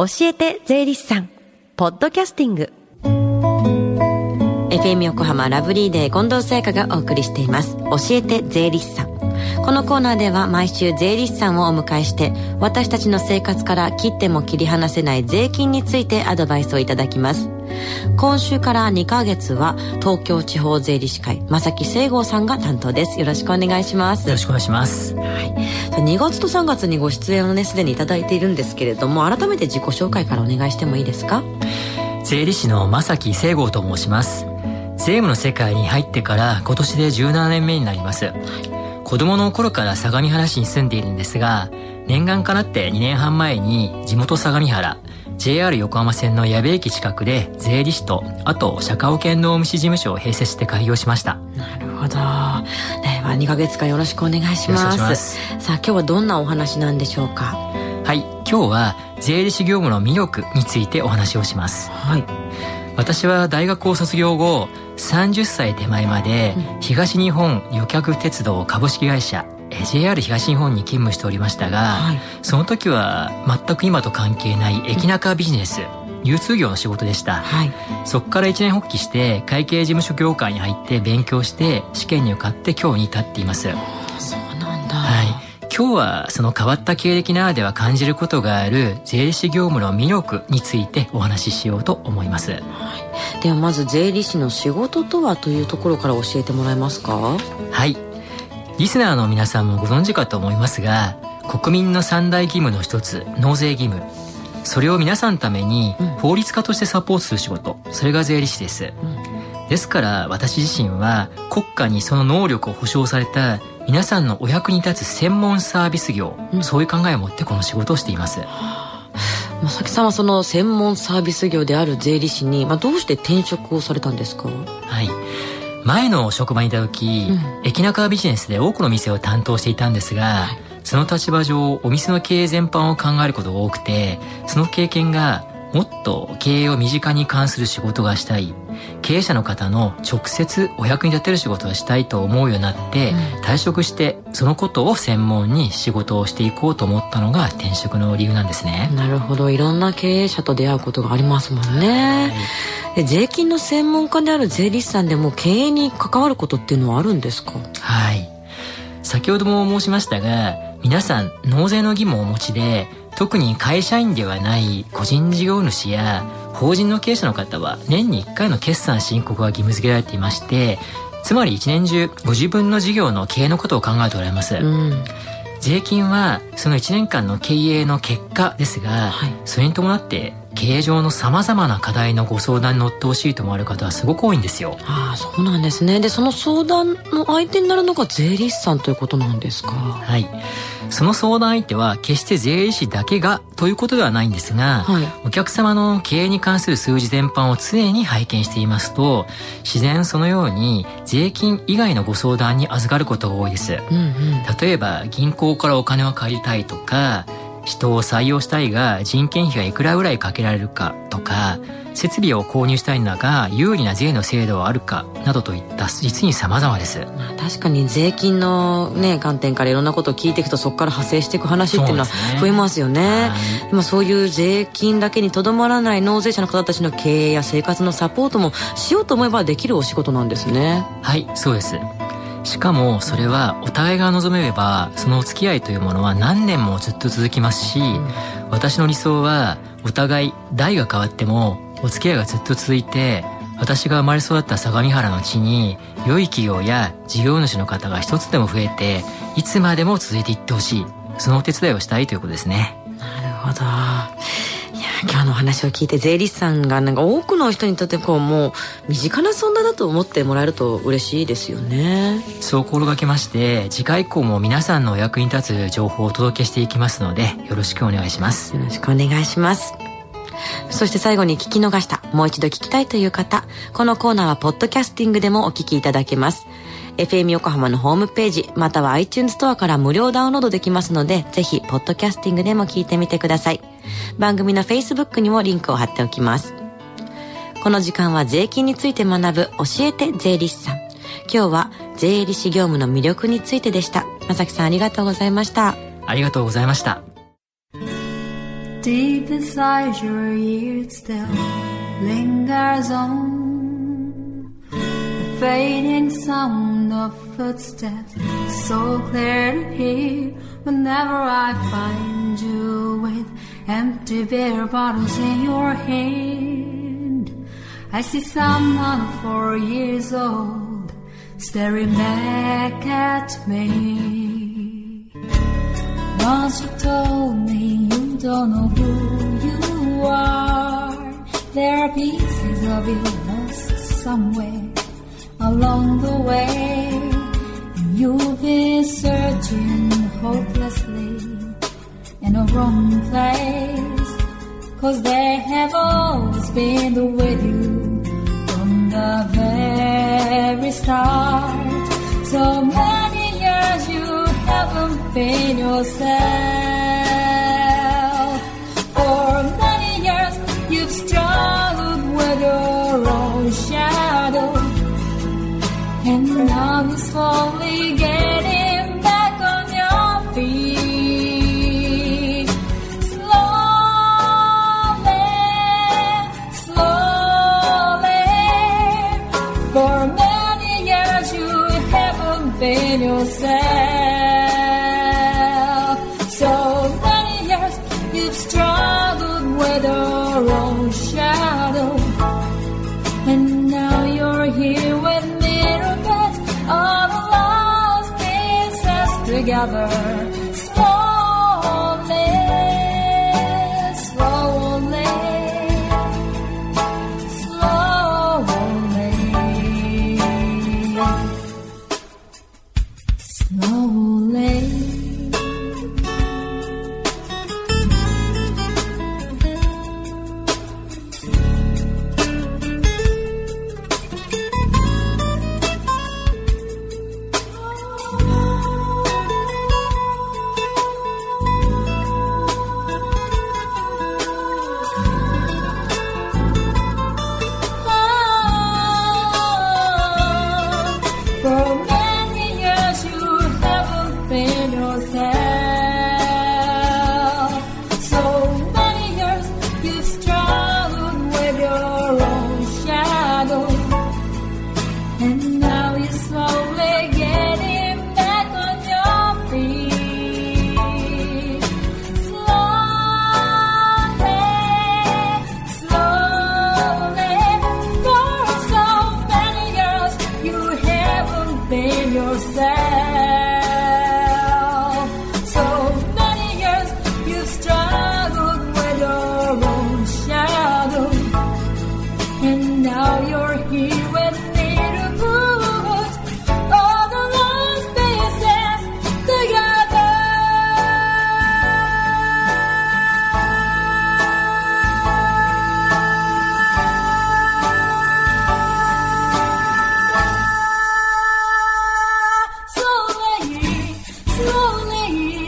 教えて税理士さんポッドキャスティング FM 横浜ラブリーデー近藤沙耶香がお送りしています教えて税理士さん。このコーナーでは毎週税理士さんをお迎えして私たちの生活から切っても切り離せない税金についてアドバイスをいただきます。今週から2ヶ月は東京地方税理士会正木聖剛さんが担当です。よろしくお願いします。 よろしくお願いします。 はい、2月と3月にご出演をねすでにいただいているんですけれども、改めて自己紹介からお願いしてもいいですか？ 税理士の正木聖剛と申します。税務の世界に入ってから今年で17年目になります。子供の頃から相模原市に住んでいるんですが、念願かなって2年半前に地元相模原 JR 横浜線の矢部駅近くで税理士とあと社会保険労務士事務所を併設して開業しました。 なるほど。では2ヶ月間よろしくお願いします。 よろしくお願いします。 さあ今日はどんなお話なんでしょうか？ はい、今日は税理士業務の魅力についてお話をします。 はい。 私は大学を卒業後30歳手前まで東日本旅客鉄道株式会社 JR 東日本に勤務しておりましたが、はい、その時は全く今と関係ない駅中ビジネス、流通業の仕事でした。はい、そこから一年発起して会計事務所業界に入って勉強して試験に受かって今日に至っています。 そうなんだ。 はい、今日はその変わった経歴ならでは感じることがある税理士業務の魅力についてお話ししようと思います。はい、 ではまず税理士の仕事とはというところから教えてもらえますか？ はい、リスナーの皆さんもご存知かと思いますが、国民の三大義務の一つ納税義務、それを皆さんのために法律家としてサポートする仕事、それが税理士です。ですから私自身は国家にその能力を保障された皆さんのお役に立つ専門サービス業、そういう考えを持ってこの仕事をしています。 正木さんはその専門サービス業である税理士に、どうして転職をされたんですか？ はい、前の職場にいた時、駅中ビジネスで多くの店を担当していたんですが、その立場上お店の経営全般を考えることが多くて、その経験がもっと経営を身近に関する仕事がしたい、経営者の方の直接お役に立てる仕事がしたいと思うようになって、退職してそのことを専門に仕事をしていこうと思ったのが転職の理由なんですね。 なるほど。いろんな経営者と出会うことがありますもんね。で税金の専門家である税理士さんでも経営に関わることっていうのはあるんですか？ はい、先ほども申しましたが、皆さん納税の義務をお持ちで、特に会社員ではない個人事業主や法人の経営者の方は年に1回の決算申告が義務付けられていまして、つまり一年中ご自分の事業の経営のことを考えておられます。税金はその1年間の経営の結果ですが、それに伴って経営上のさまざまな課題のご相談に乗ってほしいと思われる方はすごく多いんですよ。 ああ、そうなんですね。でその相談の相手になるのが税理士さんということなんですか？ はい、その相談相手は決して税理士だけがということではないんですが、お客様の経営に関する数字全般を常に拝見していますと、自然そのように税金以外のご相談に預かることが多いです。例えば銀行からお金を借りたいとか、人を採用したいが人件費がいくらぐらいかけられるかとか、設備を購入したいのだが有利な税の制度はあるかなどといった実に様々です。 確かに税金の、観点からいろんなことを聞いていくと、そこから派生していく話っていうのは増えますよね。そういう税金だけにとどまらない納税者の方たちの経営や生活のサポートもしようと思えばできるお仕事なんですね。 はい、そうです。しかもそれはお互いが望めればそのお付き合いというものは何年もずっと続きますし、私の理想はお互い代が変わってもお付き合いがずっと続いて、私が生まれ育った相模原の地に良い企業や事業主の方が一つでも増えて、いつまでも続いていってほしい、そのお手伝いをしたいということですね。 なるほど。今日のお話を聞いて、税理士さんが多くの人にとってもう身近な存在だと思ってもらえると嬉しいですよね。 そう心がけまして、次回以降も皆さんのお役に立つ情報をお届けしていきますので、よろしくお願いします。 よろしくお願いします。そして最後に聞き逃した、もう一度聞きたいという方、このコーナーはポッドキャスティングでもお聞きいただけます。FM 横浜のホームページまたは iTunes ストアから無料ダウンロードできますので、ぜひポッドキャスティングでも聞いてみてください。番組の Facebook にもリンクを貼っておきます。この時間は税金について学ぶ教えて税理士さん。今日は税理士業務の魅力についてでした。正木さん、ありがとうございました。 ありがとうございました。 Deep inside your ear it still lingers on the fading sound of footsteps, so clear to hear whenever I find you with empty beer bottles in your hand. I see someone 4 years old staring back at me. Once you told me you don't know who you are. There are pieces of you lost somewhere along the way. You've been searching hopelessly in a wrong place, 'cause they have always been with you from the very start. So many years you haven't been yourself. For many years you've struggled with your own shadow, and now you're slowly getting back on your feet. Slowly, slowly. For many years you haven't been yourself. So many years you've struggled with your own shadow, and now you're here with me to put all the lost pieces together. Slowly, slowly, slowly, slowly.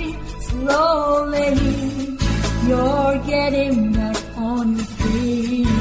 Slowly, you're getting back on your feet.